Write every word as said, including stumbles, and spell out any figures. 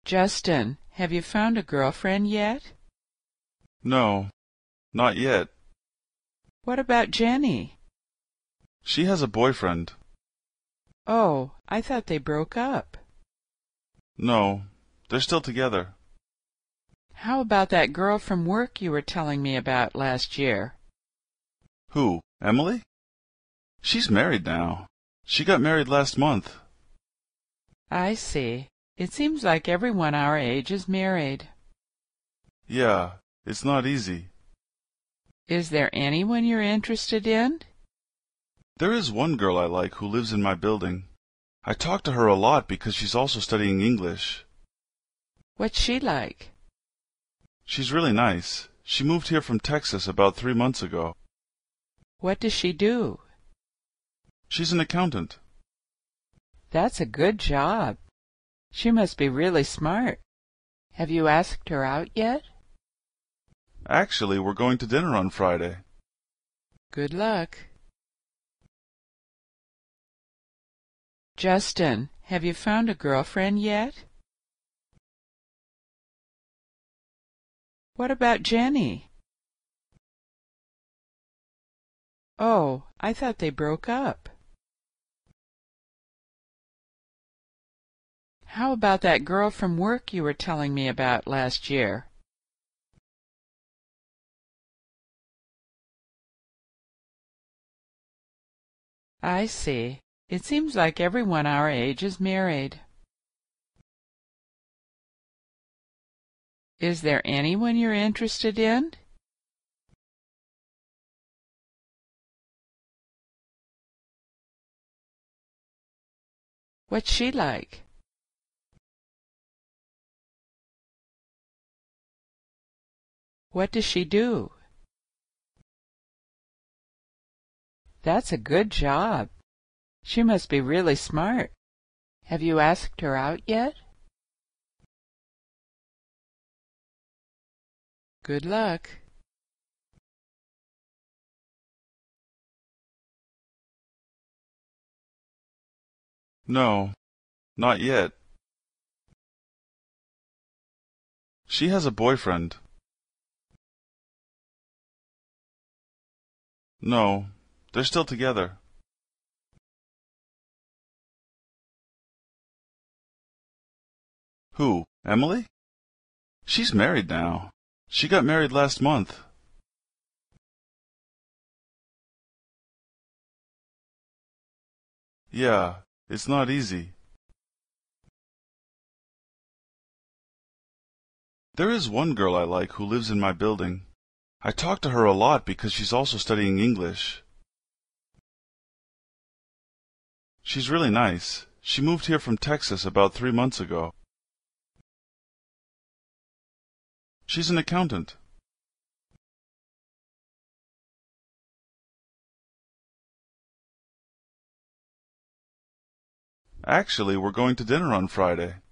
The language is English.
Justin, have you found a girlfriend yet? No, not yet. What about Jenny? She has a boyfriend. Oh, I thought they broke up. No, they're still together. How about that girl from work you were telling me about last year? Who, Emily? She's married now. She got married last month. I see. It seems like everyone our age is married. Yeah, it's not easy. Is there anyone you're interested in? There is one girl I like who lives in my building. I talk to her a lot because she's also studying English. What's she like? She's really nice. She moved here from Texas about three months ago. What does she do? She's an accountant. That's a good job. She must be really smart. Have you asked her out yet? Actually, we're going to dinner on Friday. Good luck. Justin, have you found a girlfriend yet? What about Jenny? Oh, I thought they broke up. How about that girl from work you were telling me about last year? I see. It seems like everyone our age is married. Is there anyone you're interested in? What's she like? What does she do? That's a good job. She must be really smart. Have you asked her out yet? Good luck. No, not yet. She has a boyfriend. No, they're still together. Who, Emily? She's married now. She got married last month. Yeah, it's not easy. There is one girl I like who lives in my building. I talk to her a lot because she's also studying English. She's really nice. She moved here from Texas about three months ago. She's an accountant. Actually, we're going to dinner on Friday.